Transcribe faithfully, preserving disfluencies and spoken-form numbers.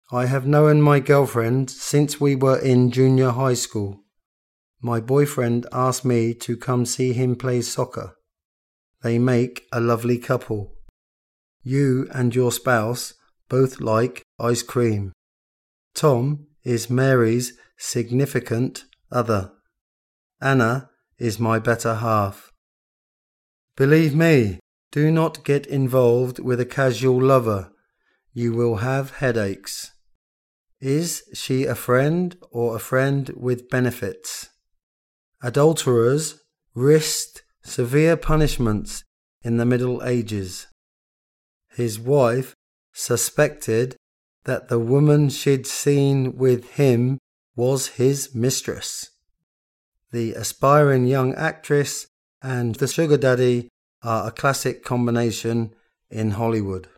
I have known my girlfriend since we were in junior high school. My boyfriend asked me to come see him play soccer. They make a lovely couple. You and your spouse both like ice cream. Tom is Mary's significant other. Anna is my better half. Believe me, do not get involved with a casual lover. You will have headaches. Is she a friend or a friend with benefits? Adulterers risked severe punishments in the Middle Ages. His wife suspected that the woman she'd seen with him was his mistress. The aspiring young actress and the sugar daddy are a classic combination in Hollywood.